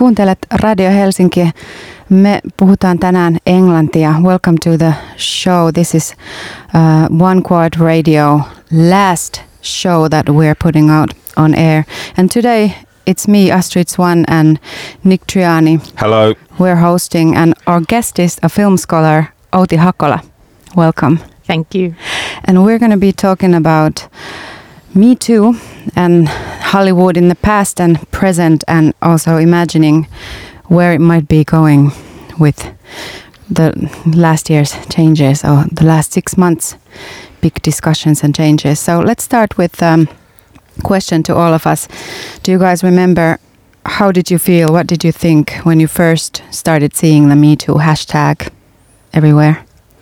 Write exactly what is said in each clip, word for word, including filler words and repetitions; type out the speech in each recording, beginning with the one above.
Kuuntelet Radio Helsinki. Me puhutaan tänään englantia. Welcome to the show. This is uh, One Quad Radio last show that we're putting out on air. And today it's me, Astrid Swan, and Nick Triani. Hello. We're hosting, and our guest is a film scholar, Outi Hakola. Welcome. Thank you. And we're going to be talking about Me Too and Hollywood in the past and present, and also imagining where it might be going with the last year's changes or the last six months big discussions and changes. So let's start with a um, question to all of us. Do you guys remember, how did you feel, what did you think when you first started seeing the Me Too hashtag everywhere?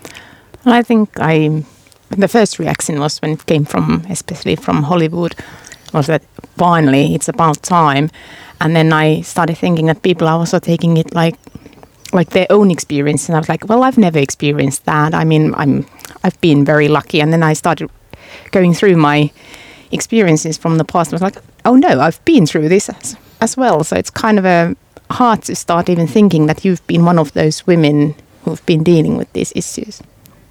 I think I the first reaction was when it came from, especially from Hollywood, was that finally it's about time. And then I started thinking that people are also taking it like like their own experience. And I was like, well, I've never experienced that. I mean, I'm I've been very lucky. And then I started going through my experiences from the past. I was like, oh no, I've been through this as, as well. So it's kind of a hard to start even thinking that you've been one of those women who've been dealing with these issues.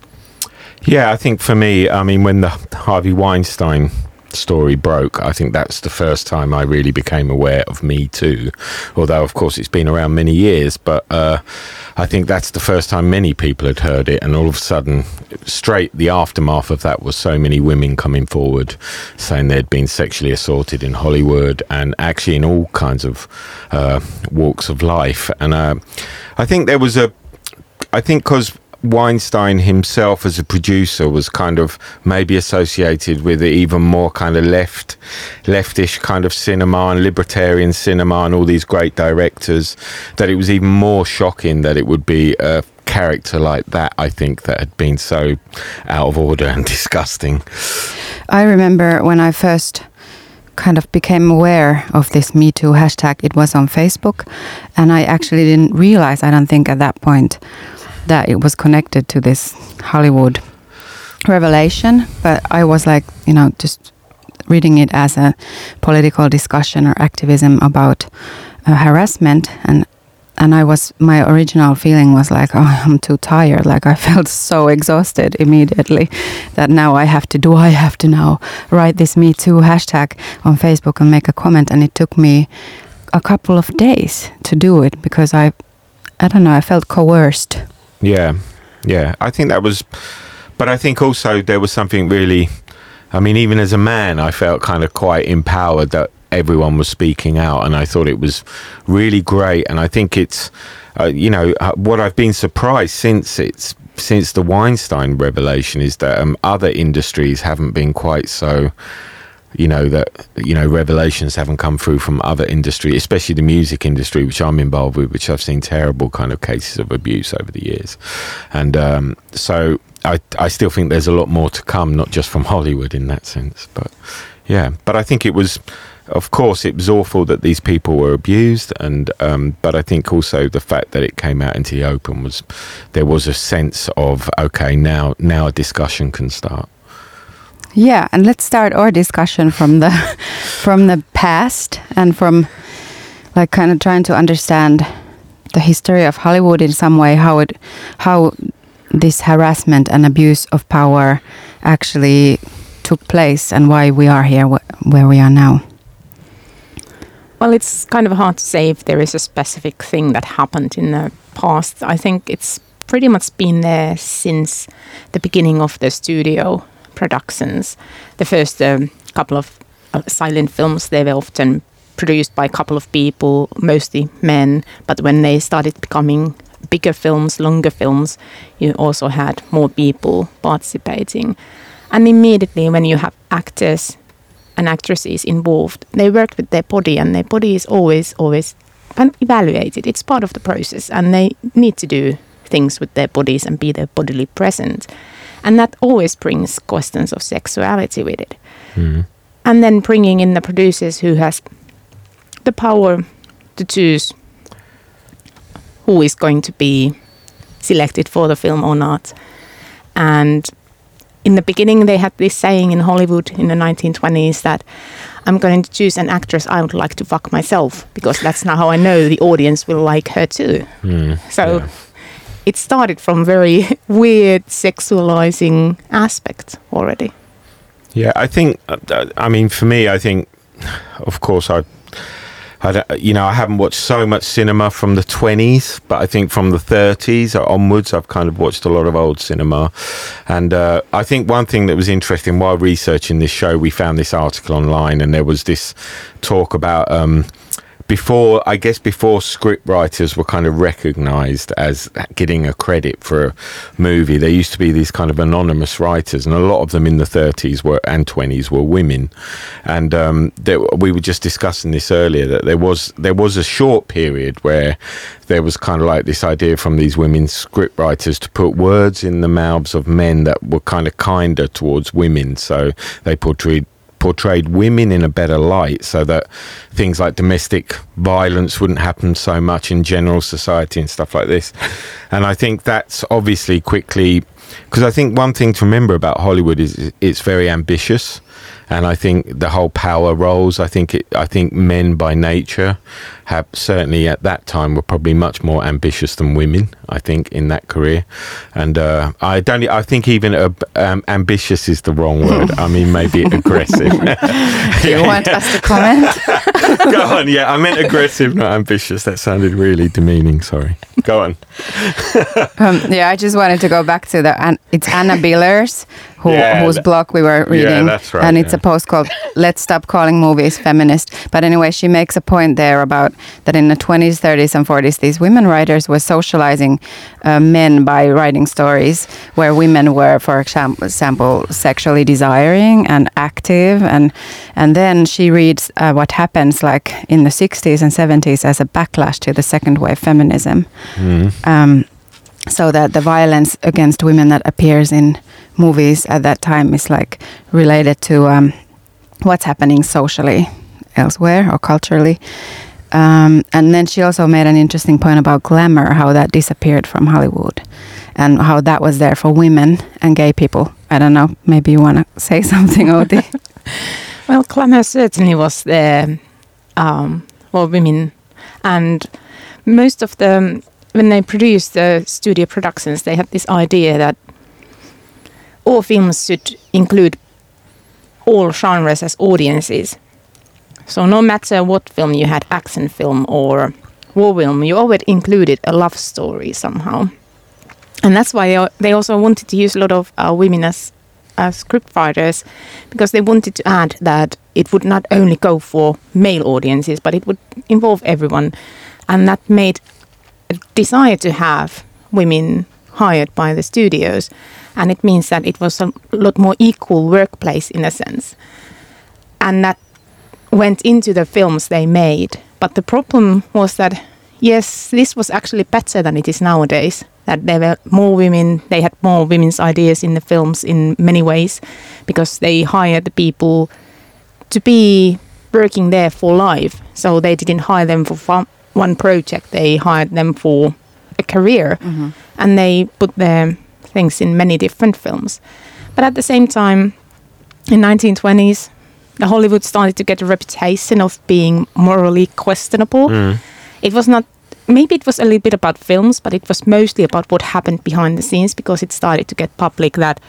Yeah, I think for me, I mean, when the Harvey Weinstein story broke, I think that's the first time I really became aware of Me Too. Although, of course, it's been around many years, but uh, I think that's the first time many people had heard it. And all of a sudden, straight the aftermath of that was so many women coming forward saying they'd been sexually assaulted in Hollywood and actually in all kinds of uh, walks of life. And uh, I think there was a, I think because Weinstein himself as a producer was kind of maybe associated with even more kind of left leftish kind of cinema and libertarian cinema and all these great directors, that it was even more shocking that it would be a character like that, I think, that had been so out of order and disgusting. I remember when I first kind of became aware of this Me Too hashtag, it was on Facebook, and I actually didn't realize, I don't think at that point, that it was connected to this Hollywood revelation. But I was like, you know, just reading it as a political discussion or activism about uh, harassment. And and I was, my original feeling was like, oh, I'm too tired. Like I felt so exhausted immediately that now I have to, do I have to now write this Me Too hashtag on Facebook and make a comment? And it took me a couple of days to do it because I, I don't know, I felt coerced. Yeah, yeah, I think that was, but I think also there was something really, I mean, even as a man, I felt kind of quite empowered that everyone was speaking out, and I thought it was really great. And I think it's, uh, you know, uh, what I've been surprised since it's, since the Weinstein revelation is that um, other industries haven't been quite so, you know, that, you know, revelations haven't come through from other industry, especially the music industry, which I'm involved with, which I've seen terrible kind of cases of abuse over the years. And um, so I, I still think there's a lot more to come, not just from Hollywood in that sense. But yeah, but I think it was, of course, it was awful that these people were abused. And um, but I think also the fact that it came out into the open was, there was a sense of, okay, now, now a discussion can start. Yeah, and let's start our discussion from the from the past and from like kind of trying to understand the history of Hollywood in some way, how it how this harassment and abuse of power actually took place and why we are here wh- where we are now. Well, it's kind of hard to say if there is a specific thing that happened in the past. I think it's pretty much been there since the beginning of the studio productions. The first um, couple of uh, silent films, they were often produced by a couple of people, mostly men. But when they started becoming bigger films, longer films, you also had more people participating. And immediately when you have actors and actresses involved, they worked with their body, and their body is always, always kind of evaluated. It's part of the process, and they need to do things with their bodies and be there bodily present. And that always brings questions of sexuality with it. Mm. And then bringing in the producers who has the power to choose who is going to be selected for the film or not. And in the beginning, they had this saying in Hollywood in the nineteen twenties that I'm going to choose an actress I would like to fuck myself, because that's not how I know the audience will like her too. Mm, so yeah. it started from very weird sexualizing aspect already. Yeah, I think, uh, I mean, for me, I think, of course, I, I don't, you know, I haven't watched so much cinema from the twenties, but I think from the thirties onwards, I've kind of watched a lot of old cinema. And uh, I think one thing that was interesting while researching this show, we found this article online, and there was this talk about um, before, I guess before script writers were kind of recognised as getting a credit for a movie, there used to be these kind of anonymous writers, and a lot of them in the thirties were and twenties were women. And um, there, we were just discussing this earlier, that there was there was a short period where there was kind of like this idea from these women script writers to put words in the mouths of men that were kind of kinder towards women. So they portrayed portrayed women in a better light, so that things like domestic violence wouldn't happen so much in general society and stuff like this. And I think that's obviously quickly, because I think one thing to remember about Hollywood is it's very ambitious, and I think the whole power roles, I think it, I think men by nature have certainly at that time were probably much more ambitious than women, I think, in that career. And uh, I don't, I think even uh, um, ambitious is the wrong word. I mean, maybe aggressive. Do you want us to comment? Go on, yeah, I meant aggressive, not ambitious. That sounded really demeaning, sorry. Go on. um, yeah, I just wanted to go back to the, and it's Anna Billers, who, Yeah, whose that- blog we were reading. Yeah, that's right, And it's yeah. a post called Let's Stop Calling Movies Feminist. But anyway, she makes a point there about that in the twenties, thirties and forties, these women writers were socializing uh, men by writing stories where women were, for exam- example, sexually desiring and active. And, and then she reads uh, what happens like in the sixties and seventies as a backlash to the second wave feminism. Mm. Um, so that the violence against women that appears in movies at that time is like related to um, what's happening socially elsewhere or culturally. Um, and then she also made an interesting point about glamour, how that disappeared from Hollywood and how that was there for women and gay people. I don't know, maybe you want to say something, Outi? Well, glamour certainly was there um, for women, and most of them, when they produced the studio productions, they had this idea that all films should include all genres as audiences. So no matter what film you had, action film or war film, you always included a love story somehow. And that's why they also wanted to use a lot of uh, women as, as script writers, because they wanted to add that it would not only go for male audiences, but it would involve everyone. And that made a desire to have women hired by the studios. And it means that it was a lot more equal workplace in a sense. And that went into the films they made. But the problem was that, yes, this was actually better than it is nowadays. That there were more women, they had more women's ideas in the films in many ways, because they hired the people to be working there for life. So they didn't hire them for fun, one project, they hired them for a career. Mm-hmm. And they put their things in many different films. But at the same time, in nineteen twenties, the Hollywood started to get a reputation of being morally questionable. Mm. It was not, maybe it was a little bit about films, but it was mostly about what happened behind the scenes, because it started to get public that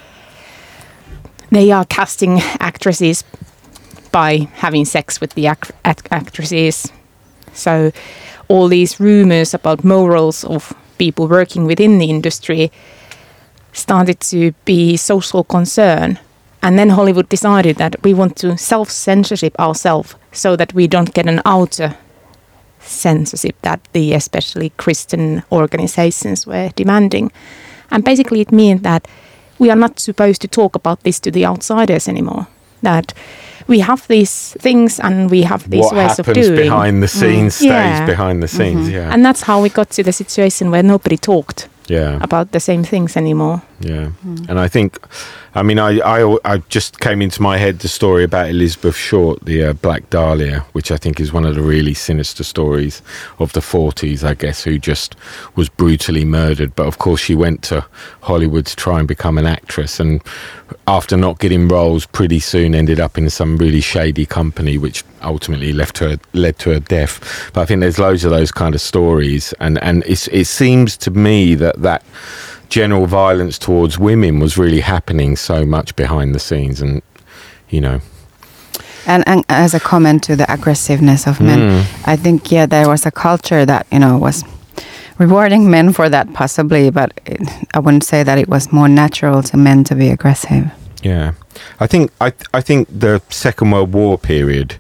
they are casting actresses by having sex with the act- act- actresses. So all these rumors about morals of people working within the industry started to be social concern. And then Hollywood decided that we want to self-censorship ourselves so that we don't get an outer censorship that the especially Christian organizations were demanding. And basically it means that we are not supposed to talk about this to the outsiders anymore. That we have these things and we have these what ways of happens doing. behind the scenes Mm. stays Yeah. behind the scenes, Mm-hmm. yeah. And that's how we got to the situation where nobody talked yeah. about the same things anymore. Yeah, mm. and I think, I mean, I, I I just came into my head the story about Elizabeth Short, the uh, Black Dahlia, which I think is one of the really sinister stories of the forties, I guess, who just was brutally murdered. But of course, she went to Hollywood to try and become an actress, and after not getting roles, pretty soon ended up in some really shady company, which ultimately left her led to her death. But I think there's loads of those kind of stories, and and it's, it seems to me that that general violence towards women was really happening so much behind the scenes, and you know. And, and as a comment to the aggressiveness of men, mm. I think yeah, there was a culture that you know was rewarding men for that possibly, but it, I wouldn't say that it was more natural to men to be aggressive. Yeah, I think I I think the Second World War period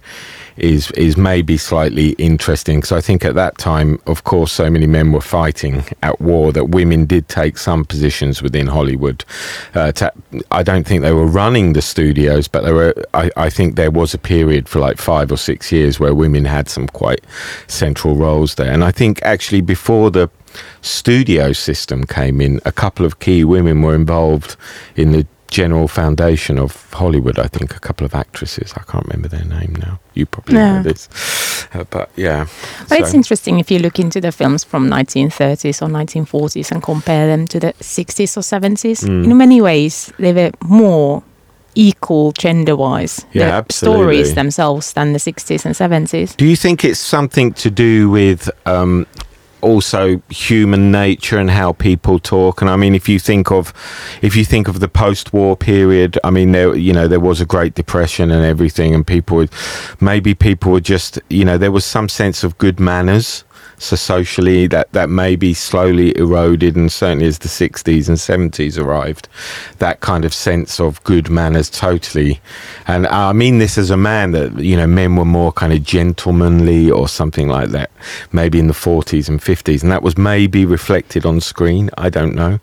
is is maybe slightly interesting, because I think at that time, of course, so many men were fighting at war that women did take some positions within Hollywood. Uh, to, I don't think they were running the studios, but there were. I, I think there was a period for like five or six years where women had some quite central roles there. And I think actually before the studio system came in, a couple of key women were involved in the general foundation of Hollywood. I think a couple of actresses, I can't remember their name now. You probably no. know this. Uh, but yeah. But so. It's interesting if you look into the films from nineteen thirties or nineteen forties and compare them to the sixties or seventies. Mm. In many ways, they were more equal gender-wise, yeah, the absolutely. stories themselves, than the sixties and seventies. Do you think it's something to do with um, also human nature and how people talk? And I mean, if you think of if you think of the post-war period, I mean, there you know there was a Great Depression and everything, and people would maybe people were just you know there was some sense of good manners. So socially, that, that maybe slowly eroded, and certainly as the sixties and seventies arrived, that kind of sense of good manners totally. And I mean this as a man, that, you know, men were more kind of gentlemanly or something like that, maybe in the forties and fifties. And that was maybe reflected on screen. I don't know.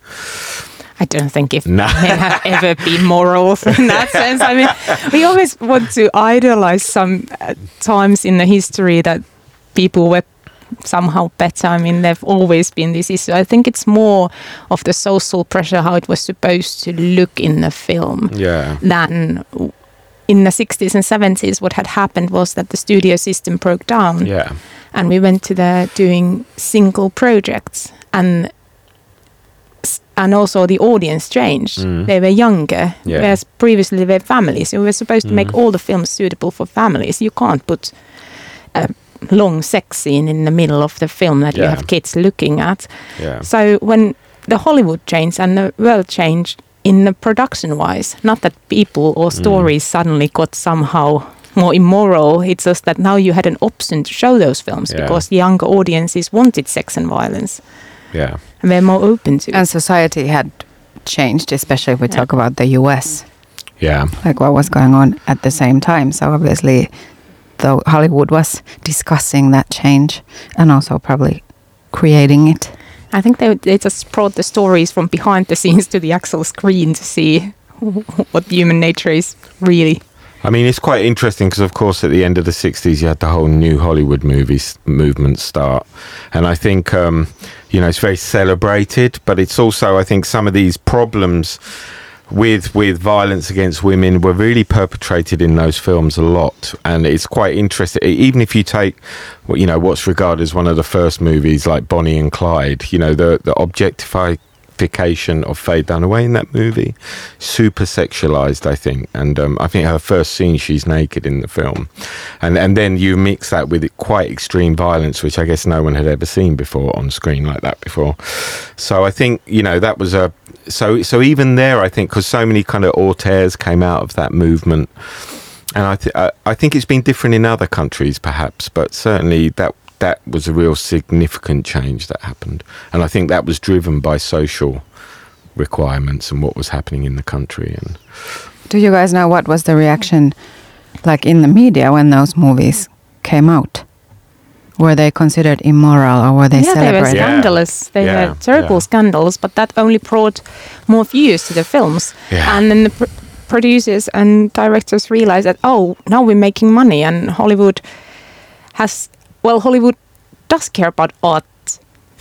I don't think if no. men have ever been morals in that sense. I mean, we always want to idolize some uh, times in the history that people were somehow better. I mean, there've always been this issue. I think it's more of the social pressure, how it was supposed to look in the film, yeah. than in the sixties and seventies. What had happened was that the studio system broke down, yeah. and we went to the doing single projects, and and also the audience changed. Mm. They were younger, yeah. whereas previously they were families. We were supposed to mm. make all the films suitable for families. You can't put a long sex scene in the middle of the film that yeah. you have kids looking at. Yeah. So when the Hollywood changed and the world changed in the production-wise, not that people or stories mm. suddenly got somehow more immoral, it's just that now you had an option to show those films yeah. because younger audiences wanted sex and violence. Yeah. And they're more open to it. And society had changed, especially if we yeah. talk about the U S. Yeah. Like what was going on at the same time. So obviously, though Hollywood was discussing that change and also probably creating it. I think they they just brought the stories from behind the scenes to the actual screen to see what human nature is really. I mean, it's quite interesting because, of course, at the end of the sixties, you had the whole new Hollywood movies movement start. And I think, um, you know, it's very celebrated, but it's also, I think, some of these problems with with violence against women were really perpetrated in those films a lot. And it's quite interesting, even if you take what you know what's regarded as one of the first movies like Bonnie and Clyde, you know, the the objectification of Faye Dunaway in that movie, super sexualized, I think. And um, I think her first scene, she's naked in the film, and and then you mix that with quite extreme violence, which I guess no one had ever seen before on screen like that before. So I think, you know, that was a So so even there, I think, because so many kind of auteures came out of that movement, and I, th- I I think it's been different in other countries, perhaps, but certainly that that was a real significant change that happened, and I think that was driven by social requirements and what was happening in the country. And do you guys know what was the reaction like in the media when those movies came out? Were they considered immoral, or were they yeah, celebrated? Yeah, they were scandalous. Yeah. They yeah. were terrible yeah. scandals, but that only brought more views to the films. Yeah. And then the pr- producers and directors realized that, oh, now we're making money, and Hollywood has, well, Hollywood does care about art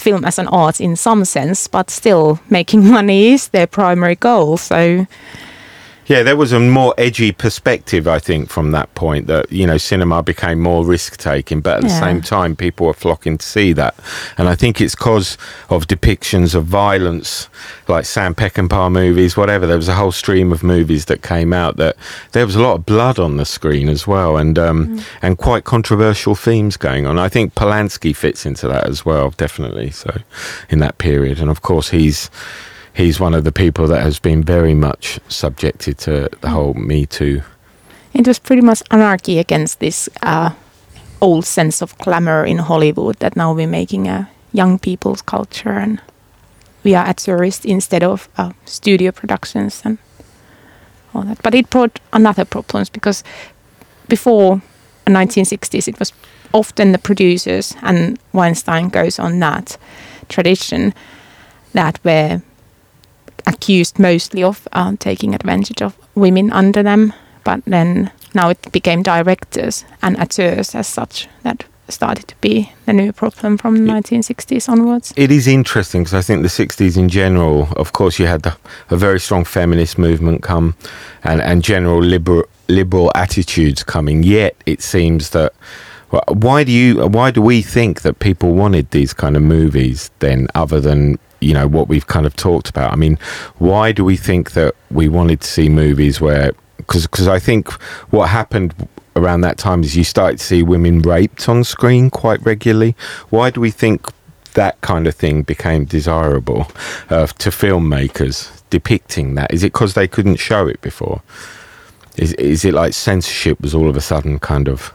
film as an art in some sense, but still making money is their primary goal. So yeah, there was a more edgy perspective, I think, from that point, that, you know, cinema became more risk-taking, but at the Yeah. same time, people were flocking to see that. And I think it's because of depictions of violence, like Sam Peckinpah movies, whatever. There was a whole stream of movies that came out that there was a lot of blood on the screen as well, and um, mm. and quite controversial themes going on. I think Polanski fits into that as well, definitely, so, in that period. And of course, he's... He's one of the people that has been very much subjected to the whole Me Too. It was pretty much anarchy against this uh, old sense of glamour in Hollywood, that now we're making a young people's culture and we are at tourist instead of uh, studio productions and all that. But it brought another problems, because before the nineteen sixties it was often the producers, and Weinstein goes on that tradition, that were accused mostly of uh, taking advantage of women under them, but then now it became directors and auteurs as such that started to be the new problem from the it, nineteen sixties onwards. It is interesting, because I think the sixties in general, of course, you had the, a very strong feminist movement come, and, and general liberal, liberal attitudes coming, yet it seems that why do you why do we think that people wanted these kind of movies then, other than, you know, what we've kind of talked about? I mean, why do we think that we wanted to see movies where, because because I think what happened around that time is you started to see women raped on screen quite regularly. Why do we think that kind of thing became desirable uh, to filmmakers depicting that? Is it because they couldn't show it before? Is is it like censorship was all of a sudden kind of...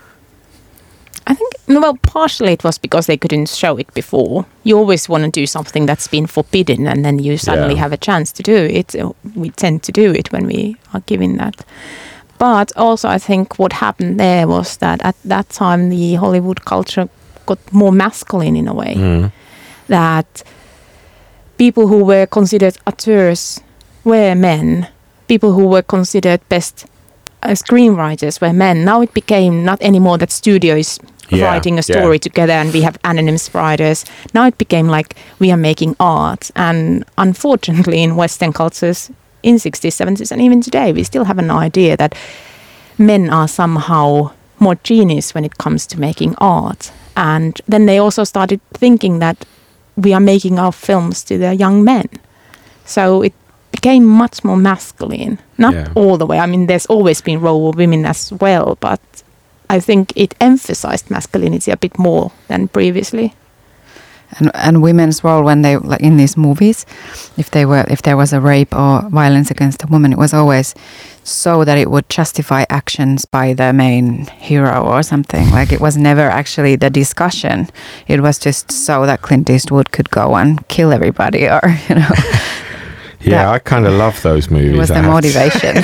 I think, well, partially it was because they couldn't show it before. You always want to do something that's been forbidden, and then you suddenly yeah. have a chance to do it. We tend to do it when we are given that. But also I think what happened there was that at that time the Hollywood culture got more masculine in a way. Mm. That people who were considered auteurs were men. People who were considered best uh, screenwriters were men. Now it became not anymore that studios Yeah, writing a story yeah. together and we have anonymous writers. Now it became like we are making art. And unfortunately in Western cultures in sixties, seventies and even today, we still have an idea that men are somehow more genius when it comes to making art. And then they also started thinking that we are making our films to the young men. So it became much more masculine. Not yeah. all the way. I mean, there's always been role of women as well, but I think it emphasized masculinity a bit more than previously. And, and women's role when they, like in these movies, if they were, if there was a rape or violence against a woman, it was always so that it would justify actions by the main hero or something. Like it was never actually the discussion. It was just so that Clint Eastwood could go and kill everybody, or you know. Yeah, I kind of love those movies. It was the motivation.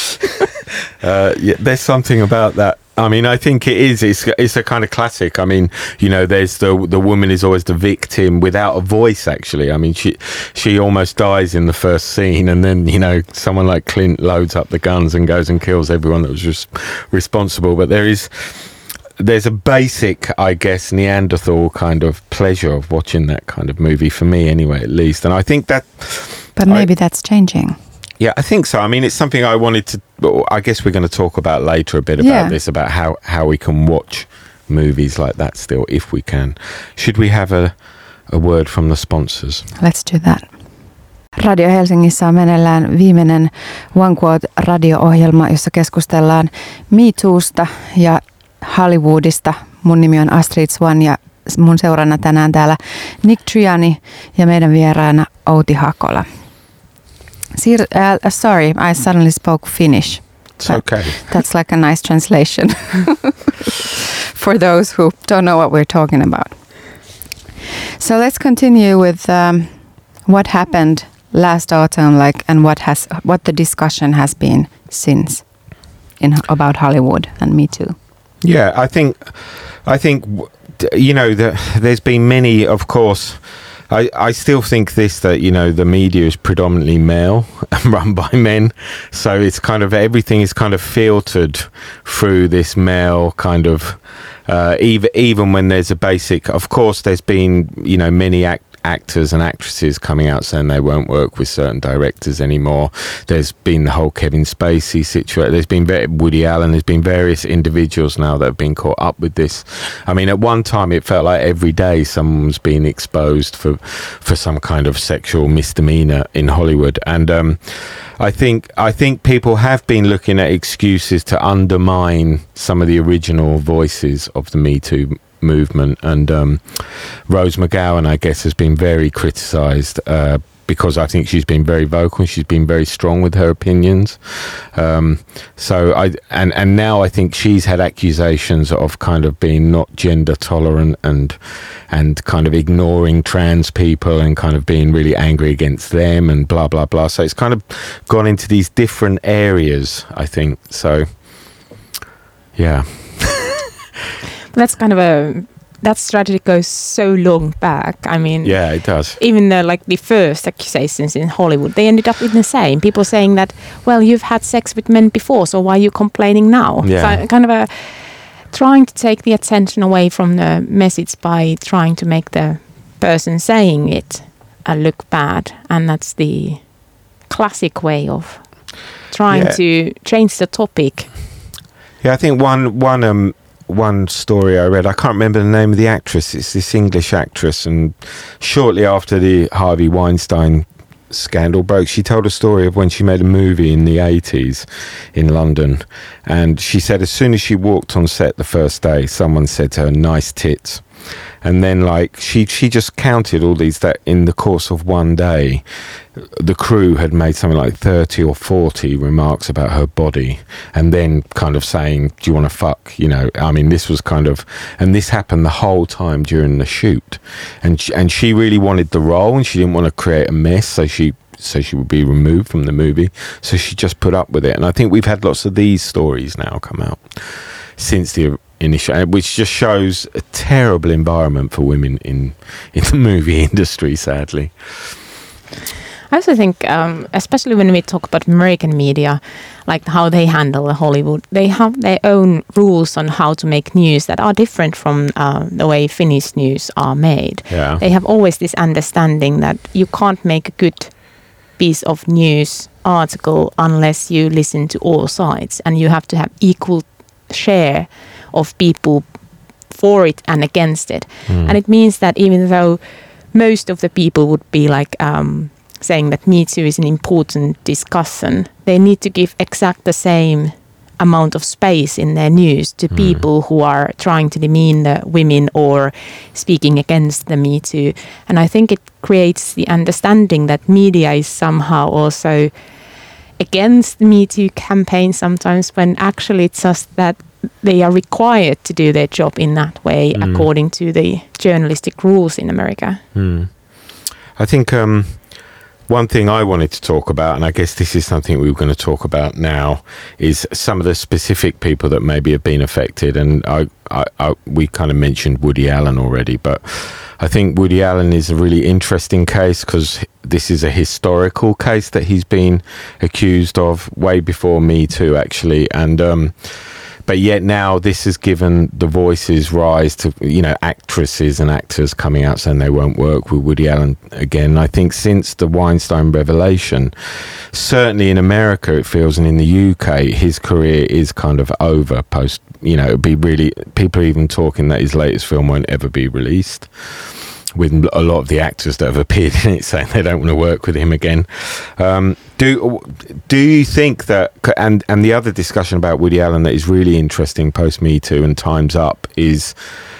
uh, yeah, there's something about that. I mean, I think it is. It's it's a kind of classic. I mean, you know, there's the the woman is always the victim without a voice. Actually, I mean, she she almost dies in the first scene, and then you know, someone like Clint loads up the guns and goes and kills everyone that was res- responsible. But there is. There's a basic, I guess, Neanderthal kind of pleasure of watching that kind of movie, for me anyway, at least. And I think that... But maybe I, that's changing. Yeah, I think so. I mean, it's something I wanted to... I guess we're going to talk about later a bit about yeah. this, about how, how we can watch movies like that still, if we can. Should we have a, a word from the sponsors? Let's do that. Radio Helsingissä on meneillään viimeinen One Quote radio-ohjelma, jossa keskustellaan Me Toosta ja Hollywoodista. Mun nimi on Astrid Swan ja mun seurana tänään täällä Nick Triani ja meidän vieraana Outi Hakola. Sir, uh, sorry, I suddenly spoke Finnish. It's okay. That's like a nice translation for those who don't know what we're talking about. So let's continue with um, what happened last autumn, like, and what has what the discussion has been since in about Hollywood and Me Too. Yeah, I think, I think, you know, the, there's been many, of course, I, I still think this, that, you know, the media is predominantly male and run by men. So it's kind of, everything is kind of filtered through this male kind of, uh, even, even when there's a basic, of course, there's been, you know, many act, actors and actresses coming out saying they won't work with certain directors anymore. There's been the whole Kevin Spacey situation. There's been very, Woody Allen. There's been various individuals now that have been caught up with this. I mean, at one time it felt like every day someone's been exposed for for some kind of sexual misdemeanor in Hollywood. And um, I think I think people have been looking at excuses to undermine some of the original voices of the Me Too movement, and um, Rose McGowan, I guess, has been very criticised uh, because I think she's been very vocal and she's been very strong with her opinions. Um, so I and and now I think she's had accusations of kind of being not gender tolerant and and kind of ignoring trans people and kind of being really angry against them and blah blah blah. So it's kind of gone into these different areas, I think. So yeah. That's kind of a, that strategy goes so long back. I mean, yeah, it does. Even the like the first accusations in Hollywood, they ended up in the same. People saying that, well, you've had sex with men before, so why are you complaining now? Yeah. So kind of a trying to take the attention away from the message by trying to make the person saying it uh, look bad, and that's the classic way of trying yeah. to change the topic. Yeah, I think one one um. One story I read, I can't remember the name of the actress, it's this English actress, and shortly after the Harvey Weinstein scandal broke, she told a story of when she made a movie in the eighties in London, and she said as soon as she walked on set the first day, someone said to her, nice tits. And then like she she just counted all these, that in the course of one day the crew had made something like thirty or forty remarks about her body, and then kind of saying, do you want to fuck, you know? I mean, this was kind of, and this happened the whole time during the shoot, and she, and she really wanted the role and she didn't want to create a mess, so she so she would be removed from the movie, so she just put up with it. And I think we've had lots of these stories now come out since the initial, which just shows a terrible environment for women in in the movie industry, sadly. I also think, um, especially when we talk about American media, like how they handle the Hollywood, they have their own rules on how to make news that are different from uh, the way Finnish news are made. Yeah. They have always this understanding that you can't make a good piece of news article unless you listen to all sides, and you have to have equal share of people for it and against it. Mm. And it means that even though most of the people would be like um, saying that Me Too is an important discussion, they need to give exact the same amount of space in their news to mm. people who are trying to demean the women or speaking against the Me Too. And I think it creates the understanding that media is somehow also against the Me Too campaign sometimes, when actually it's just that they are required to do their job in that way mm. according to the journalistic rules in America. Mm. I think um, one thing I wanted to talk about, and I guess this is something we were going to talk about now, is some of the specific people that maybe have been affected. And I, I, I, we kind of mentioned Woody Allen already, but I think Woody Allen is a really interesting case because this is a historical case that he's been accused of way before Me Too, actually. And um, but yet now this has given the voices rise to, you know, actresses and actors coming out saying they won't work with Woody Allen again. I think since the Weinstein revelation, certainly in America it feels, and in the U K, his career is kind of over post, you know, it'd be really, people are even talking that his latest film won't ever be released, with a lot of the actors that have appeared in it saying they don't want to work with him again. Um, do do you think that, and, and the other discussion about Woody Allen that is really interesting post Me Too and Time's Up is,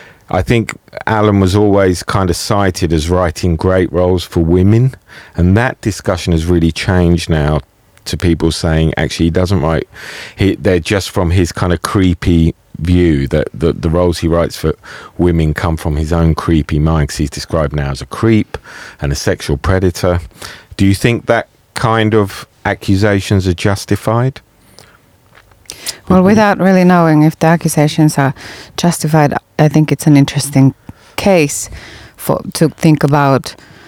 I think Allen was always kind of cited as writing great roles for women, and that discussion has really changed now to people saying actually he doesn't write, he, they're just from his kind of creepy view that the, the roles he writes for women come from his own creepy mind, because he's described now as a creep and a sexual predator. Do you think that kind of accusations are justified? Well, without really knowing if the accusations are justified, I think it's an interesting case for to think about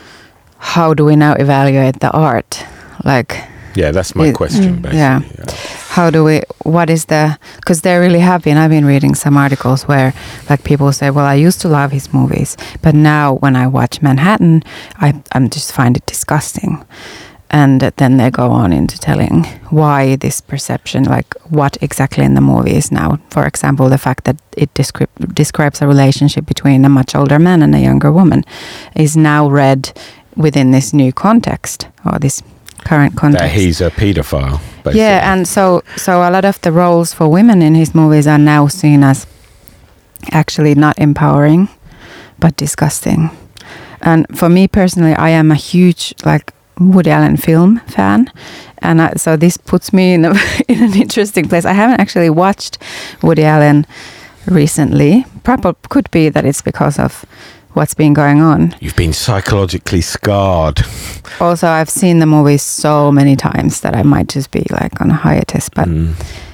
how do we now evaluate the art? Like, yeah, that's my it, question, mm, basically. yeah. yeah. How do we, what is the, because there really have been, I've been reading some articles where like people say, well, I used to love his movies, but now when I watch Manhattan, I I'm just find it disgusting. And then they go on into telling why this perception, like what exactly in the movie is now. For example, the fact that it descri- describes a relationship between a much older man and a younger woman is now read within this new context or this current context. That he's a paedophile, basically. Yeah, and so so a lot of the roles for women in his movies are now seen as actually not empowering, but disgusting. And for me personally, I am a huge like Woody Allen film fan, and I, so this puts me in, a, in an interesting place. I haven't actually watched Woody Allen recently. Probably could be that it's because of what's been going on. You've been psychologically scarred. Also, I've seen the movies so many times that I might just be like on a hiatus, but Mm.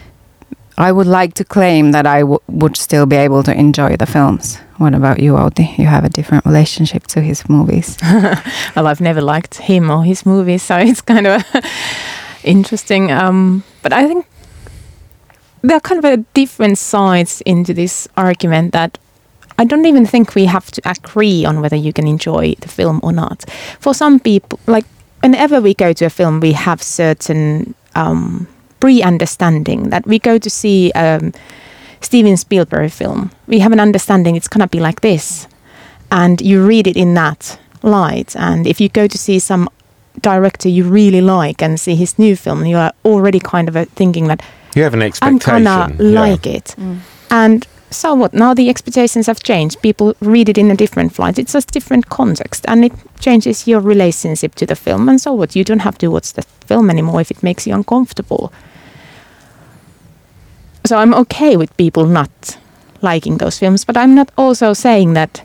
I would like to claim that I w- would still be able to enjoy the films. What about you, Outi? You have a different relationship to his movies. Well, I've never liked him or his movies, so it's kind of interesting. Um, but I think there are kind of a different sides into this argument that I don't even think we have to agree on whether you can enjoy the film or not. For some people, like whenever we go to a film, we have certain um, pre-understanding that we go to see um, Steven Spielberg film. We have an understanding it's going to be like this. And you read it in that light. And if you go to see some director you really like and see his new film, you are already kind of uh, thinking that You have an I'm expectation. gonna yeah. like it. And so what? Now the expectations have changed. People read it in a different light. It's a different context, and it changes your relationship to the film. And so what? You don't have to watch the film anymore if it makes you uncomfortable. So I'm okay with people not liking those films, but I'm not also saying that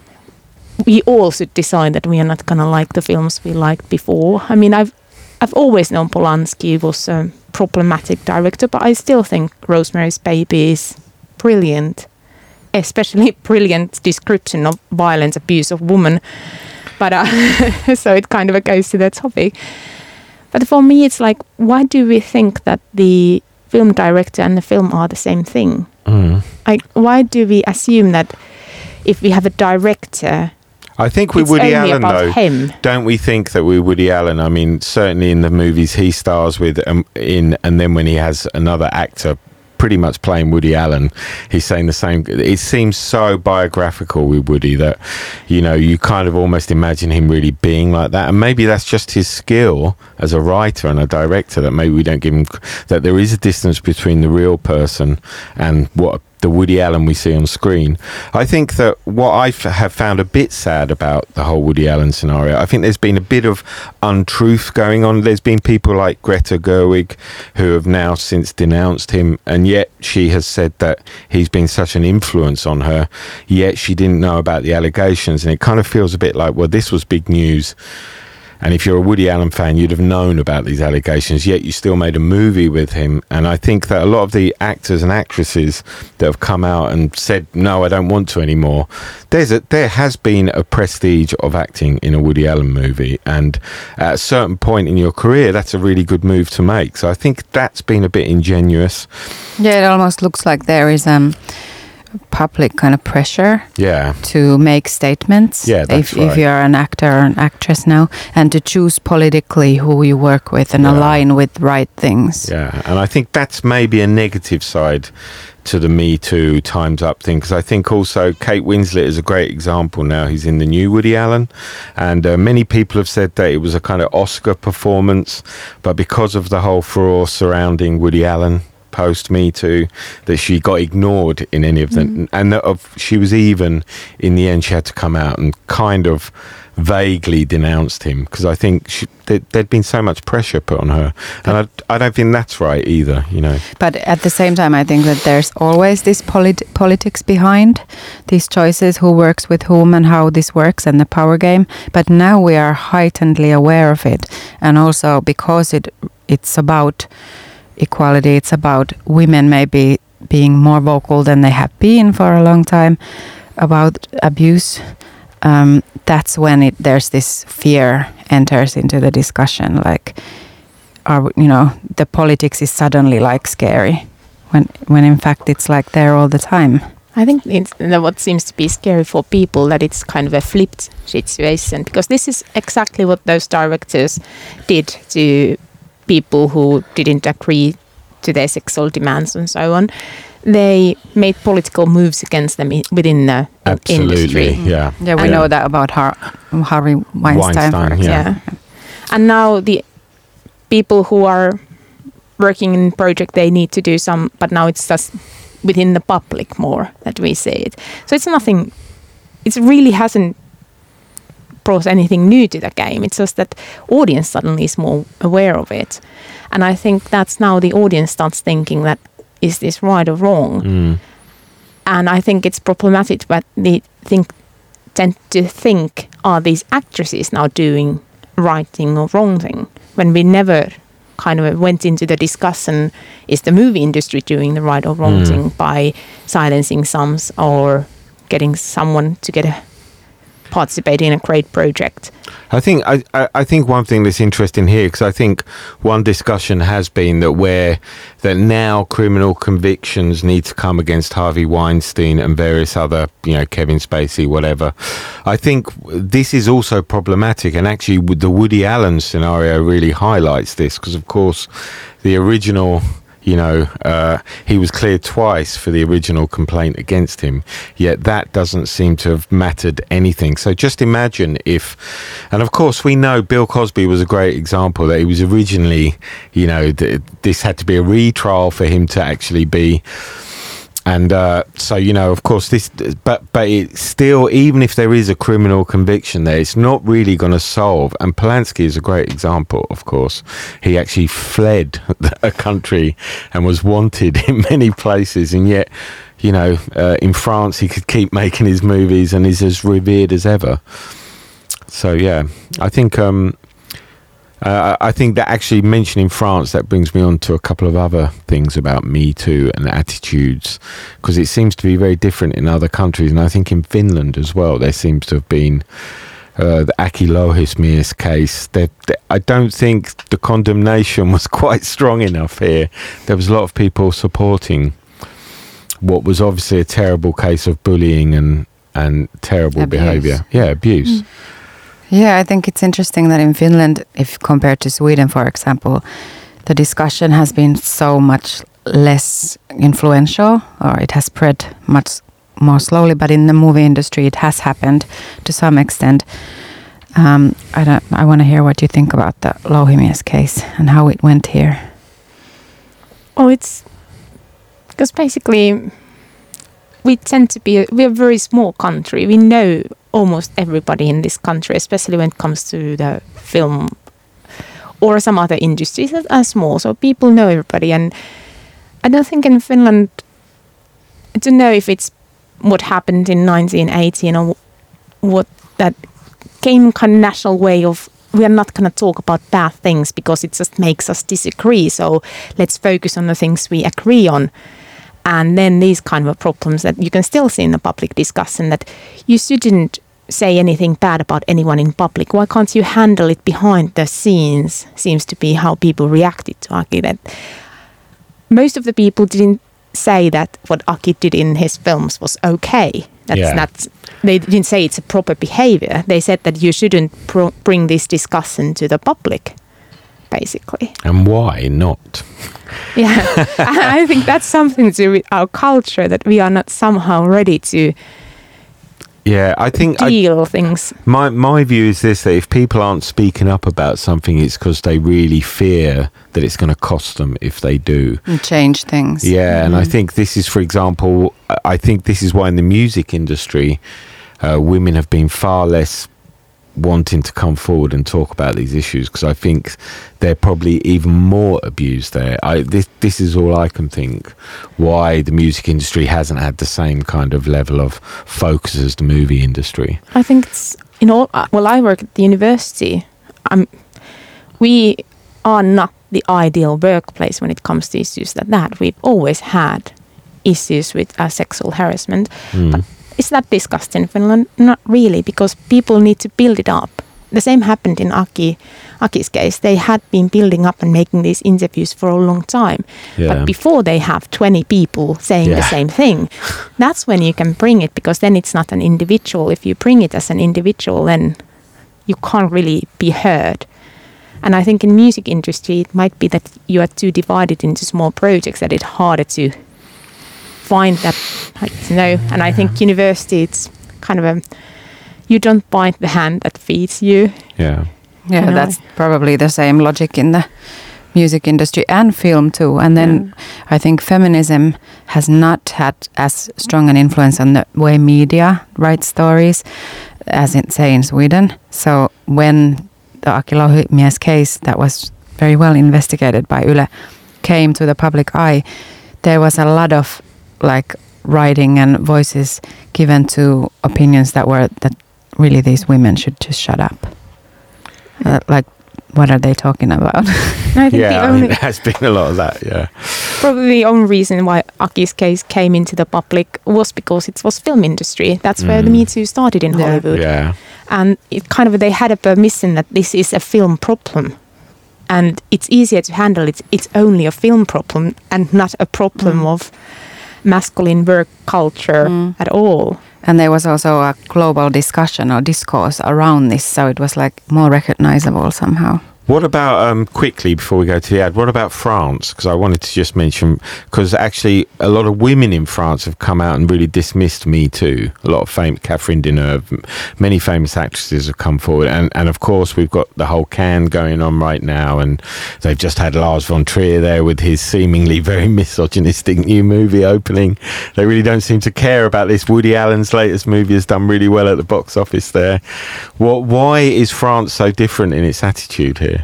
we all should decide that we are not gonna like the films we liked before. I mean, I've I've always known Polanski was a problematic director, but I still think Rosemary's Baby is brilliant. Especially brilliant description of violence, abuse of women. But uh, so it kind of goes to that topic. But for me, it's like, why do we think that the film director and the film are the same thing? Mm. Like, why do we assume that if we have a director, I think with it's Woody only Allen, about though, him? don't we think that with Woody Allen, I mean, certainly in the movies he stars with um, in, and then when he has another actor pretty much playing Woody Allen, he's saying the same. It seems so biographical with Woody that, you know, you kind of almost imagine him really being like that. And maybe that's just his skill as a writer and a director, that maybe we don't give him, that there is a distance between the real person and what the Woody Allen we see on screen. I think that what I f- have found a bit sad about the whole Woody Allen scenario, I think there's been a bit of untruth going on. There's been people like Greta Gerwig who have now since denounced him, and yet she has said that he's been such an influence on her, yet she didn't know about the allegations. And it kind of feels a bit like, well, this was big news. And if you're a Woody Allen fan, you'd have known about these allegations, yet you still made a movie with him. And I think that a lot of the actors and actresses that have come out and said, no, I don't want to anymore, there's a, there has been a prestige of acting in a Woody Allen movie. And at a certain point in your career, that's a really good move to make. So I think that's been a bit ingenuous. Yeah, it almost looks like there is um public kind of pressure Yeah. to make statements. Yeah, that's if, right. if you're an actor or an actress now, and to choose politically who you work with and Yeah. align with right things. Yeah, and I think that's maybe a negative side to the Me Too, Time's Up thing, because I think also Kate Winslet is a great example now. He's in the new Woody Allen, and uh, many people have said that it was a kind of Oscar performance, but because of the whole furore surrounding Woody Allen post Me Too, that she got ignored in any of them, mm. and that of, she was even in the end she had to come out and kind of vaguely denounced him, because I think she, there, there'd been so much pressure put on her, and I, I don't think that's right either, you know. But at the same time, I think that there's always this polit- politics behind these choices, who works with whom and how this works, and the power game. But now we are heightenedly aware of it, and also because it it's about equality, it's about women maybe being more vocal than they have been for a long time about abuse. um, that's when it there's this fear enters into the discussion. Like, are you know the politics is suddenly like scary when when in fact it's like there all the time. I think it's what seems to be scary for people, that it's kind of a flipped situation, because this is exactly what those directors did to people who didn't agree to their sexual demands and so on. They made political moves against them i- within the Absolutely, industry. yeah. Yeah, we And- know that about Har- Harvey Weinstein. for Weinstein, example. yeah. And now the people who are working in project, they need to do some, but now it's just within the public more that we see it. So it's nothing, it really hasn't brought anything new to the game. It's just that audience suddenly is more aware of it. And I think that's now the audience starts thinking that, is this right or wrong? Mm. And I think it's problematic, but they think tend to think, are these actresses now doing right thing or wrong thing? When we never kind of went into the discussion, is the movie industry doing the right or wrong Mm. thing by silencing some or getting someone to get a participate in a great project? I think I, I, I think one thing that's interesting here, because I think one discussion has been that where that now criminal convictions need to come against Harvey Weinstein and various other, you know, Kevin Spacey, whatever. I think this is also problematic, and actually with the Woody Allen scenario really highlights this, because of course the original, you know, uh, he was cleared twice for the original complaint against him, yet that doesn't seem to have mattered anything. So just imagine if, and of course we know Bill Cosby was a great example, that he was originally, you know, th- this had to be a retrial for him to actually be, and uh, so, you know, of course this, but but it still, even if there is a criminal conviction there, it's not really going to solve. And Polanski is a great example, of course. He actually fled a country and was wanted in many places, and yet, you know, uh, in France he could keep making his movies and is as revered as ever. So yeah, I think um, uh, I think that actually mentioning France, that brings me on to a couple of other things about Me Too and attitudes, because it seems to be very different in other countries, and I think in Finland as well there seems to have been uh, the Aki Louhismies case. They, they, I don't think the condemnation was quite strong enough here. There was a lot of people supporting what was obviously a terrible case of bullying and and terrible Abuse. behaviour. Yeah, abuse. Mm. Yeah, I think it's interesting that in Finland, if compared to Sweden, for example, the discussion has been so much less influential, or it has spread much more slowly. But in the movie industry, it has happened to some extent. Um, I don't. I want to hear what you think about the Louhimies case and how it went here. Oh, it's because basically we tend to be, a, we're a very small country. We know almost everybody in this country, especially when it comes to the film or some other industries that are small. So people know everybody. And I don't think in Finland, to know if it's what happened in nineteen eighteen or what that came kind of national way of, we are not going to talk about bad things because it just makes us disagree. So let's focus on the things we agree on. And then these kind of problems that you can still see in the public discussion, that you shouldn't say anything bad about anyone in public. Why can't you handle it behind the scenes? Seems to be how people reacted to Aki. That most of the people didn't say that what Aki did in his films was okay. That's Yeah. not. They didn't say it's a proper behavior. They said that you shouldn't pro- bring this discussion to the public, basically. And why not? Yeah, I think that's something to do with our culture, that we are not somehow ready to Yeah, I think I, deal things. my my view is this: that if people aren't speaking up about something, it's because they really fear that it's going to cost them if they do. And change things. Yeah, and I think this is, for example, I think this is why in the music industry, uh, women have been far less wanting to come forward and talk about these issues, because I think they're probably even more abused there. I, this, this is all I can think why the music industry hasn't had the same kind of level of focus as the movie industry. I think it's in all. Uh, well, I work at the university. Um, we are not the ideal workplace when it comes to issues like that. We've always had issues with uh, sexual harassment. Mm. But is that discussed in Finland? Not really, because people need to build it up. The same happened in Aki, Aki's case. They had been building up and making these interviews for a long time. Yeah. But before they have twenty people saying Yeah. the same thing, that's when you can bring it, because then it's not an individual. If you bring it as an individual, then you can't really be heard. And I think in music industry, it might be that you are too divided into small projects that it's harder to find that, like, you know. And I think university, it's kind of a, you don't bite the hand that feeds you. Yeah. Yeah, You know. that's probably the same logic in the music industry and film too. And then Yeah. I think feminism has not had as strong an influence on the way media writes stories as in, say, in Sweden. So when the Aki Louhimies case that was very well investigated by Yle came to the public eye, there was a lot of like writing and voices given to opinions that were that really these women should just shut up. Uh, like, what are they talking about? And I think Yeah, the I only, mean, there has been a lot of that, yeah. probably the only reason why Aki's case came into the public was because it was film industry. That's where the Mm. Me Too started in Yeah. Hollywood. Yeah. And it kind of, they had a permission that this is a film problem. And it's easier to handle it. It's only a film problem and not a problem Mm. of masculine work culture Mm. at all. And there was also a global discussion or discourse around this, so it was like more recognizable somehow. What about, um, quickly before we go to the ad, what about France? Because I wanted to just mention, because actually a lot of women in France have come out and really dismissed Me Too. A lot of fame, Catherine Deneuve, m- many famous actresses have come forward. And, and of course, we've got the whole Cannes going on right now. And they've just had Lars von Trier there with his seemingly very misogynistic new movie opening. They really don't seem to care about this. Woody Allen's latest movie has done really well at the box office there. What, why is France so different in its attitude here?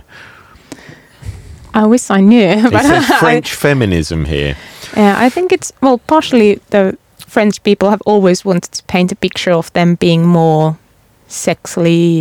I wish I knew. It but says I- French feminism here. Yeah, I think it's, well, partially the French people have always wanted to paint a picture of them being more sexually,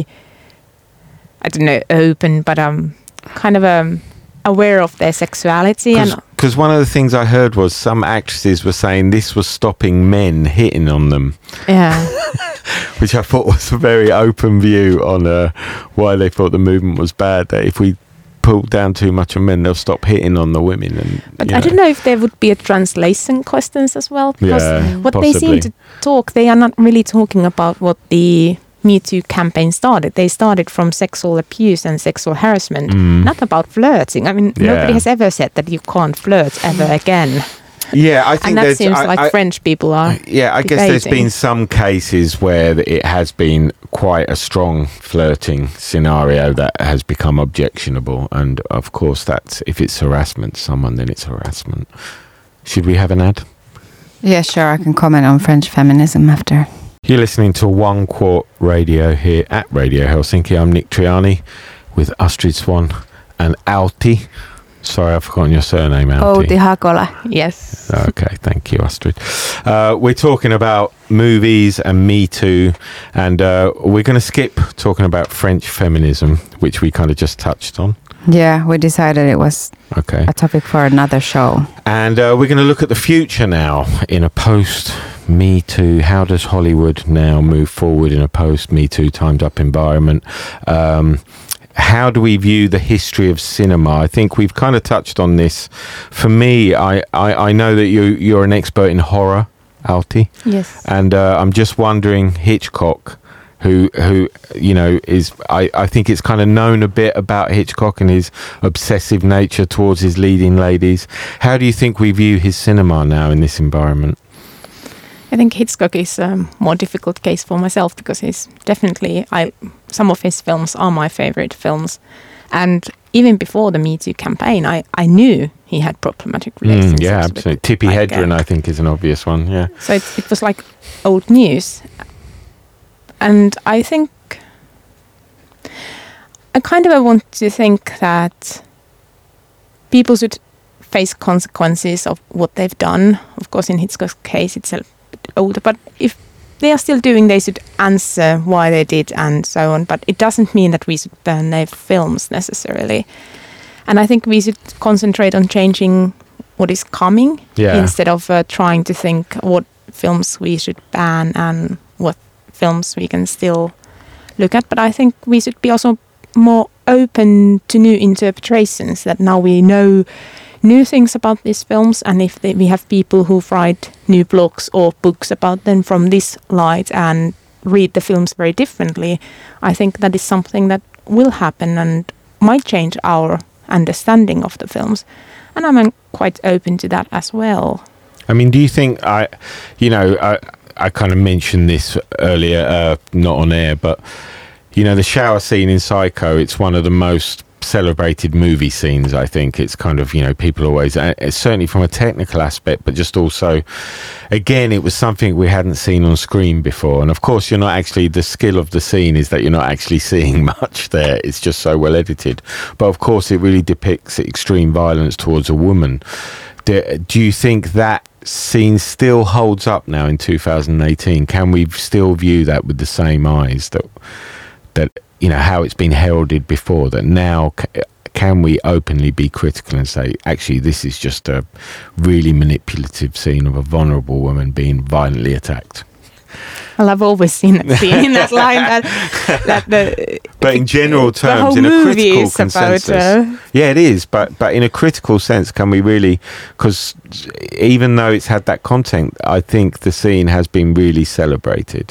I don't know, open, but um, kind of um, aware of their sexuality. And Because one of the things I heard was some actresses were saying this was stopping men hitting on them, yeah, which I thought was a very open view on uh, why they thought the movement was bad. That if we pull down too much on men, they'll stop hitting on the women. And but you I don't know if there would be a translation questions as well, because Yeah, what they possibly. seem to talk, they are not really talking about what the Me Too campaign started. They started from sexual abuse and sexual harassment, Mm. not about flirting. I mean, Yeah. nobody has ever said that you can't flirt ever again. Yeah, I think And that there's. seems I, like I- French people are. Yeah, I guess there's debating. been some cases where it has been quite a strong flirting scenario that has become objectionable, and of course, that's if it's harassment to someone, then it's harassment. Should we have an ad? Yeah, sure, I can comment on French feminism after. You're listening to One Quart Radio here at Radio Helsinki. I'm Nick Triani with Astrid Swan and Alti. Sorry, I've forgotten your surname, Alti. Outi Hakola. Yes. Okay, thank you, Astrid. Uh, we're talking about movies and Me Too, and uh, we're going to skip talking about French feminism, which we kind of just touched on. Yeah, we decided it was Okay. a topic for another show. And uh, we're going to look at the future now in a post Me Too. How does Hollywood now move forward in a post Me Too timed up environment? Um, how do we view the history of cinema? I think we've kind of touched on this. For me, I, I, I know that you, you're an expert in horror, Alti. Yes. And uh, I'm just wondering, Hitchcock, who, who you know, is, I, I think it's kind of known a bit about Hitchcock and his obsessive nature towards his leading ladies. How do you think we view his cinema now in this environment? I think Hitchcock is a more difficult case for myself because he's definitely, I some of his films are my favorite films. And even before the Me Too campaign, I, I knew he had problematic relationships. Mm, yeah, with, absolutely. Tippi like, Hedren, uh, I think, is an obvious one, yeah. So it, it was like old news. And I think, I kind of want to think that people should face consequences of what they've done. Of course, in Hitchcock's case, it's a bit older, but if they are still doing, they should answer why they did and so on. But it doesn't mean that we should burn their films necessarily. And I think we should concentrate on changing what is coming Yeah. instead of uh, trying to think what films we should ban and what films we can still look at. But I think we should be also more open to new interpretations, that now we know new things about these films, and if they, we have people who write new blogs or books about them from this light and read the films very differently, I think that is something that will happen and might change our understanding of the films. And I'm quite open to that as well. I mean, do you think, I, you know, I, I kind of mentioned this earlier, uh, not on air, but, you know, the shower scene in Psycho, it's one of the most celebrated movie scenes, I think. It's kind of, you know, people always, uh, certainly from a technical aspect, but just also, again, it was something we hadn't seen on screen before. And of course, you're not actually, the skill of the scene is that you're not actually seeing much there. It's just so well edited. But of course, it really depicts extreme violence towards a woman. Do, do you think that scene still holds up now in two thousand eighteen? Can we still view that with the same eyes that, that you know, how it's been heralded before, that now c- can we openly be critical and say, actually, this is just a really manipulative scene of a vulnerable woman being violently attacked? Well, I've always seen that scene in that line. That, that the, but in general the terms, whole in a movie critical is consensus, about, uh, yeah, it is. But but in a critical sense, can we really? Because even though it's had that content, I think the scene has been really celebrated.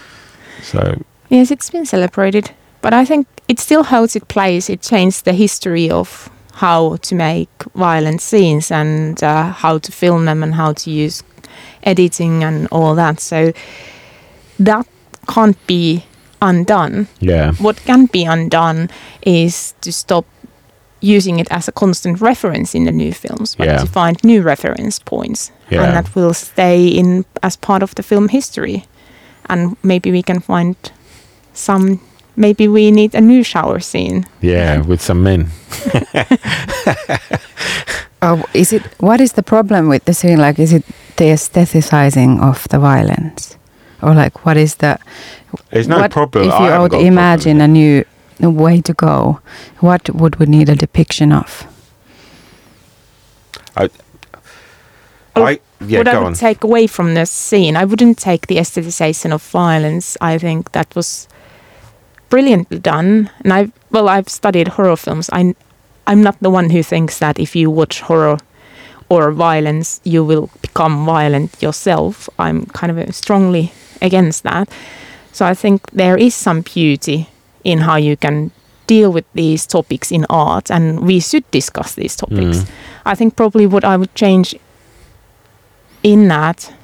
So yes, it's been celebrated, but I think it still holds its place. It changed the history of how to make violent scenes and uh, how to film them and how to use editing and all that. So that can't be undone. yeah, What can be undone is to stop using it as a constant reference in the new films, but Yeah. to find new reference points, Yeah. and that will stay in as part of the film history. And maybe we can find some. Maybe we need a new shower scene. yeah, with some men. Oh, is it? What is the problem with the scene? Like, is it the aestheticizing of the violence, or like what is the? There's no what, problem. If I you haven't would got a problem imagine with a it. new way to go, what would we need a depiction of? I, Oh, I yeah, what I go would on. take away from the scene, I wouldn't take the aestheticization of violence. I think that was brilliantly done. And I, well, I've studied horror films. I, I'm not the one who thinks that if you watch horror or violence, you will become violent yourself. I'm kind of strongly against that. So I think there is some beauty in how you can deal with these topics in art, and we should discuss these topics. Mm. I think probably what I would change in that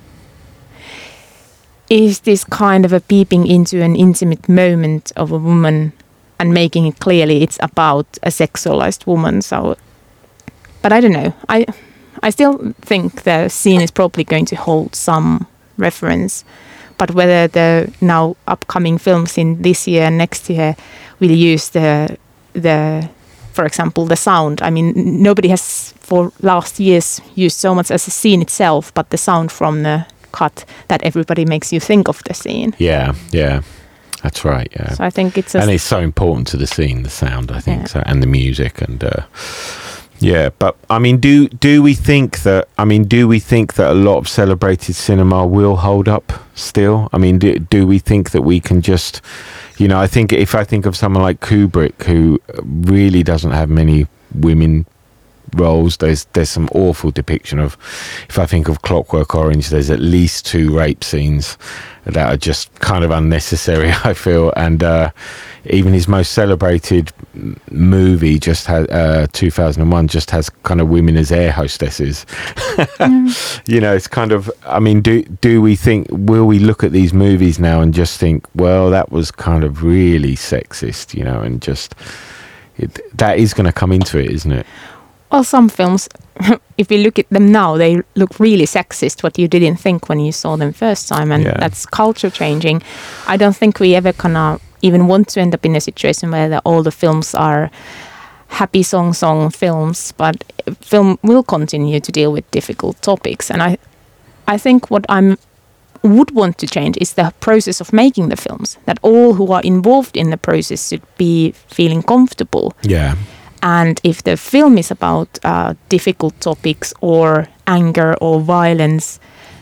is this kind of a peeping into an intimate moment of a woman and making it clearly it's about a sexualized woman. So, but I don't know. I I still think the scene is probably going to hold some reference, but whether the now upcoming films in this year and next year will use the the for example the sound. I mean, nobody has for last years used so much as the scene itself, but the sound from the cut that everybody makes you think of the scene. Yeah, yeah, that's right. Yeah, So I think it's a and it's so important to the scene, the sound. I think Yeah. so, and the music, and uh, yeah. But I mean, do do we think that? I mean, do we think that a lot of celebrated cinema will hold up still? I mean, do, do we think that we can just, you know, I think if I think of someone like Kubrick, who really doesn't have many women roles, there's there's some awful depiction of, if I think of Clockwork Orange, there's at least two rape scenes that are just kind of unnecessary, I feel. And uh, even his most celebrated m- movie just has uh, two thousand one just has kind of women as air hostesses. You know, it's kind of, I mean, do do we think, will we look at these movies now and just think, well, that was kind of really sexist, you know, and just it, that is going to come into it, isn't it? Well, some films, if you look at them now, they look really sexist, what you didn't think when you saw them first time, and Yeah. that's culture changing. I don't think we ever gonna even want to end up in a situation where the, all the films are happy song song films, but film will continue to deal with difficult topics. And I, I think what I'm would want to change is the process of making the films, that all who are involved in the process should be feeling comfortable. Yeah. And if the film is about uh, difficult topics or anger or violence,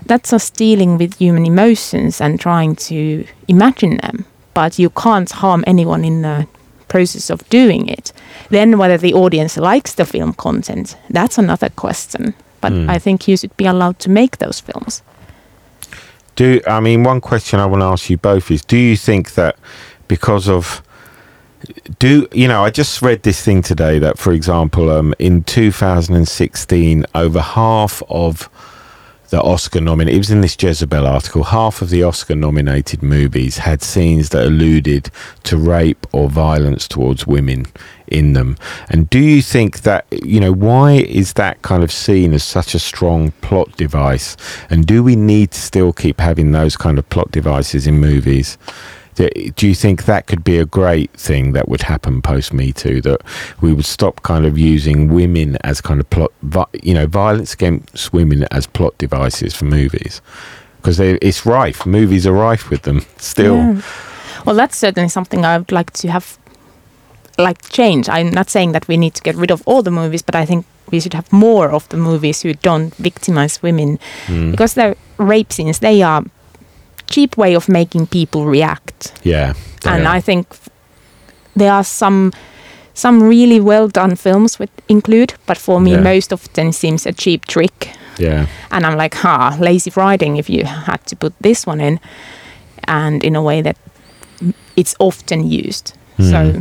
that's us dealing with human emotions and trying to imagine them, but you can't harm anyone in the process of doing it. Then whether the audience likes the film content, that's another question. But mm. I think you should be allowed to make those films. Do I mean one question I want to ask you both is, do you think that because of do you know I just read this thing today that, for example, um, in two thousand sixteen over half of the Oscar nominated, it was in this Jezebel article, half of the Oscar nominated movies had scenes that alluded to rape or violence towards women in them. And do you think that, you know, why is that kind of seen as such a strong plot device? And do we need to still keep having those kind of plot devices in movies? Do you think that could be a great thing that would happen post Me Too, that we would stop kind of using women as kind of plot, you know, violence against women as plot devices for movies? Because it's rife. Movies are rife with them still. Yeah. Well, that's certainly something I would like to have, like, change. I'm not saying that we need to get rid of all the movies, but I think we should have more of the movies who don't victimize women. Mm. Because the rape scenes, they are cheap way of making people react. Yeah. And are. I think there are some some really well done films with include, but for me yeah. most of them seems a cheap trick. Yeah. And I'm like, ha, lazy writing if you had to put this one in, and in a way that it's often used. Mm. So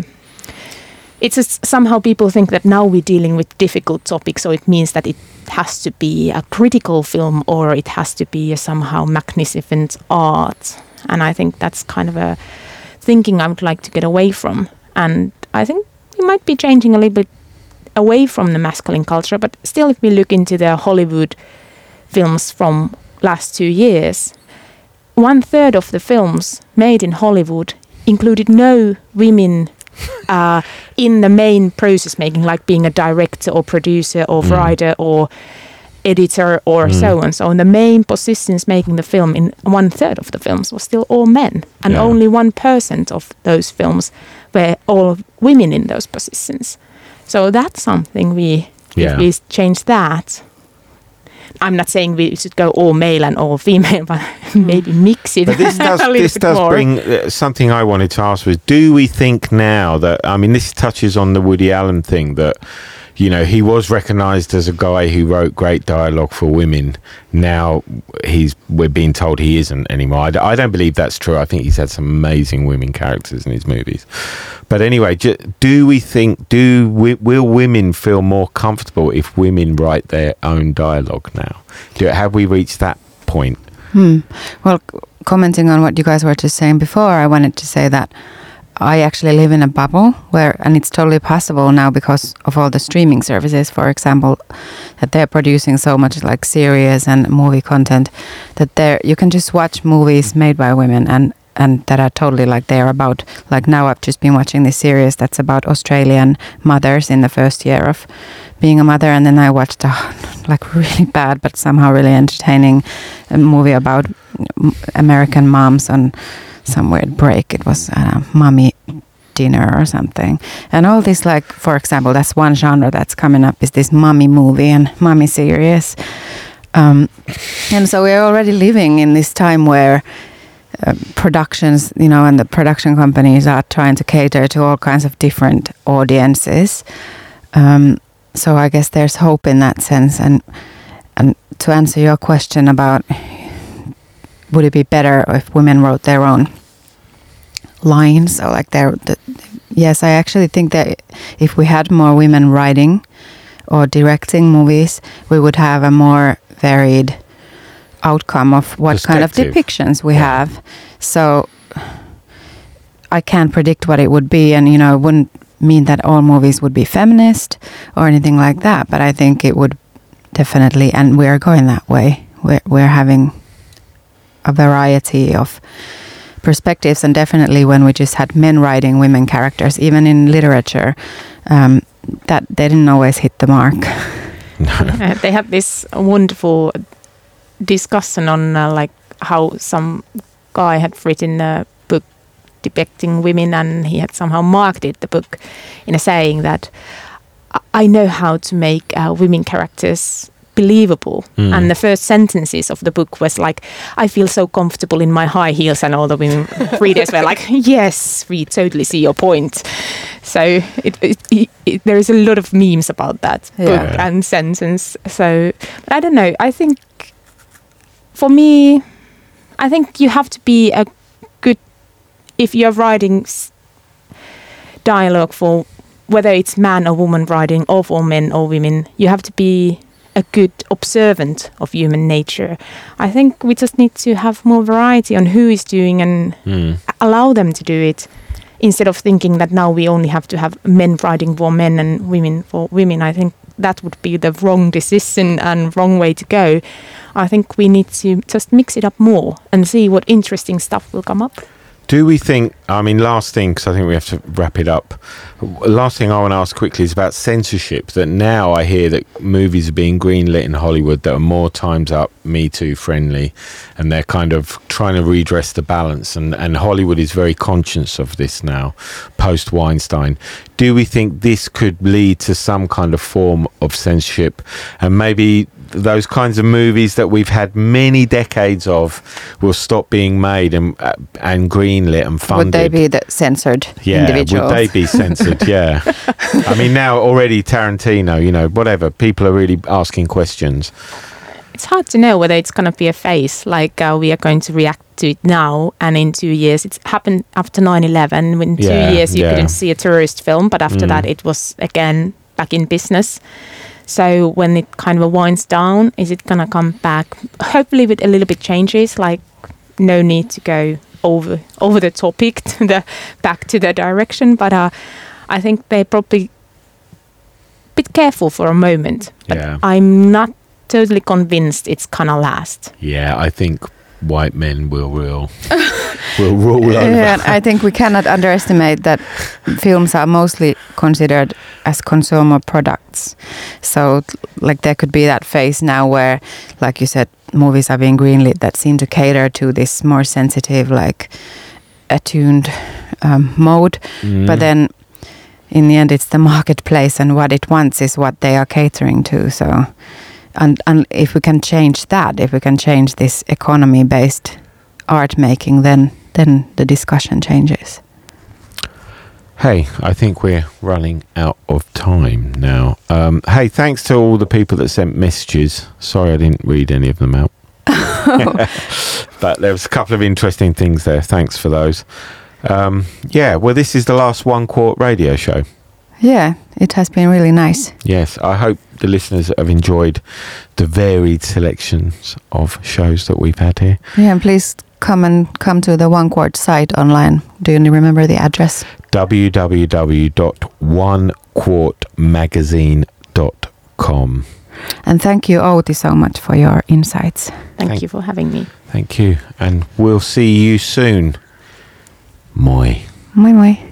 it's just, somehow people think that now we're dealing with difficult topics, so it means that it has to be a critical film or it has to be a somehow magnificent art. And I think that's kind of a thinking I would like to get away from. And I think we might be changing a little bit away from the masculine culture, but still if we look into the Hollywood films from last two years, one third of the films made in Hollywood included no women uh, in the main process making, like being a director or producer or mm. writer or editor or mm. so on. So in the main positions making the film, in one third of the films was still all men, and yeah. only one percent of those films were all women in those positions. So that's something we, yeah. if we change that. I'm not saying we should go all male and all female, but maybe mix it. But this does, a little this bit does more. bring uh, something I wanted to ask was, do we think now that, I mean, this touches on the Woody Allen thing, that, you know, he was recognised as a guy who wrote great dialogue for women. Now he's we're being told he isn't anymore. I, d- I don't believe that's true. I think he's had some amazing women characters in his movies. But anyway, j- do we think, do we, will women feel more comfortable if women write their own dialogue now? Do, have we reached that point? Hmm. Well, c- commenting on what you guys were just saying before, I wanted to say that I actually live in a bubble where, and it's totally possible now because of all the streaming services, for example, that they're producing so much like series and movie content that there you can just watch movies made by women and and that are totally like they're about, like now I've just been watching this series that's about Australian mothers in the first year of being a mother, and then I watched a like really bad but somehow really entertaining movie about American moms on some weird break. It was a mommy dinner or something. And all this, like, for example, that's one genre that's coming up, is this mommy movie and mommy series. Um, and so we're already living in this time where uh, productions, you know, and the production companies are trying to cater to all kinds of different audiences. Um, so I guess there's hope in that sense. And and to answer your question about would it be better if women wrote their own lines, or like their, the, yes, I actually think that if we had more women writing or directing movies, we would have a more varied outcome of what kind of depictions we yeah. have. So I can't predict what it would be, and you know, it wouldn't mean that all movies would be feminist or anything like that, but I think it would definitely, and we're going that way. We're, we're having a variety of perspectives, and definitely when we just had men writing women characters, even in literature, um, that they didn't always hit the mark. uh, they had this wonderful discussion on uh, like how some guy had written a book depicting women, and he had somehow marketed the book in a saying that I know how to make uh, women characters believable. Mm. And the first sentences of the book was like, I feel so comfortable in my high heels, and all the women readers were like, yes, we totally see your point. So it, it, it, it, there is a lot of memes about that Yeah. book and sentence. So, but I don't know. I think for me, I think you have to be a good, if you're writing s- dialogue for whether it's man or woman writing, or for men or women, you have to be a good observant of human nature. I think we just need to have more variety on who is doing and Mm. allow them to do it, instead of thinking that now we only have to have men writing for men and women for women. I think that would be the wrong decision and wrong way to go. I think we need to just mix it up more and see what interesting stuff will come up. Do we think, I mean, last thing, because I think we have to wrap it up. Last thing I want to ask quickly is about censorship. That now I hear that movies are being greenlit in Hollywood that are more Time's Up, Me Too friendly, and they're kind of trying to redress the balance. And, and Hollywood is very conscious of this now, post Weinstein. Do we think this could lead to some kind of form of censorship, and maybe those kinds of movies that we've had many decades of will stop being made and uh, and greenlit and funded? Would they be the censored yeah, individuals? would they be censored? Yeah. I mean, now already Tarantino, you know, whatever, people are really asking questions. It's hard to know whether it's going to be a phase, like uh, we are going to react to it now, and in two years. It's happened after nine eleven. In two Yeah, years you yeah. couldn't see a terrorist film, but after Mm. that it was again back in business. So when it kind of winds down, is it going to come back? Hopefully with a little bit changes, like no need to go over over the topic to the back to the direction. But uh, I think they're probably a bit careful for a moment. But Yeah. I'm not totally convinced it's gonna last. Yeah, I think white men will rule, will rule over. Yeah, and I think we cannot underestimate that films are mostly considered as consumer products. So, t- like, there could be that phase now where, like you said, movies are being greenlit that seem to cater to this more sensitive, like, attuned um, mode. Mm. But then, in the end, it's the marketplace, and what it wants is what they are catering to. So, and, and if we can change that, if we can change this economy-based art making, then then the discussion changes. Hey, I think we're running out of time now. Um, hey, thanks to all the people that sent messages. Sorry I didn't read any of them out. But there was a couple of interesting things there. Thanks for those. Um, yeah, well, this is the last One Quart radio show. Yeah, it has been really nice. Yes, I hope the listeners have enjoyed the varied selections of shows that we've had here. Yeah, and please come and come to the One Quart site online. Do you remember the address? w w w dot one quart magazine dot com. And thank you, Outi, so much for your insights. Thank, Thank- you for having me. Thank you, and we'll see you soon. Moi. Moi moi.